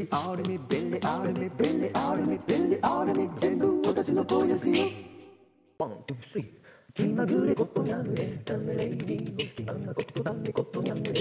out of me, belly out of me, belly out of me, belly out of me、全部私の声ですよ。ワン、ツー、スリー。気まぐれことにゃんエンタメレイディオ、気まぐれことだめことにゃんです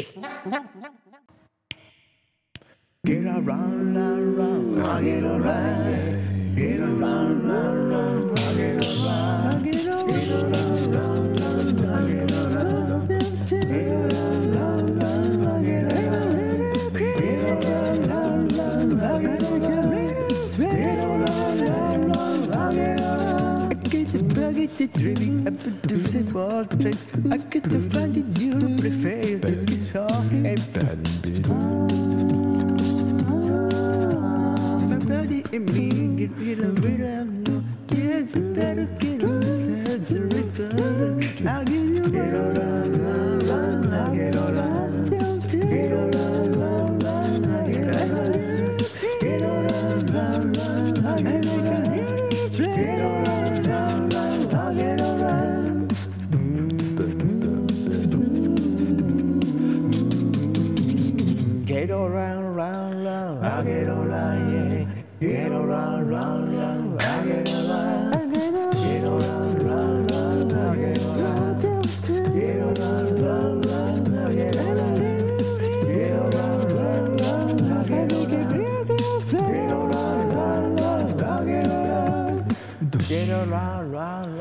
。Get around, round, round, I get around. Get around, round, round, I get around. Get around, round, round, I get around. Get around, round, round, I get around. Get around, round, round, I get around. Get around, round, round, I get around. I get the bug, it's the dreaming, I produce it for the place. I get to find it, you prefer to be shocking and bad. In me, get rid of it. Yes, better get on the river. I'll give you get on, I'll get on, get on, I'll get on, get on, I'll get on, get on, I'll get on. Get around, round, round, I'll get around, yeah. Get around, round, round, I get around. Get around, round, round, I get around. Get around, round, round, I get around. Get around, round, round, I get around. Get around, round, round, I get around. Get around, round,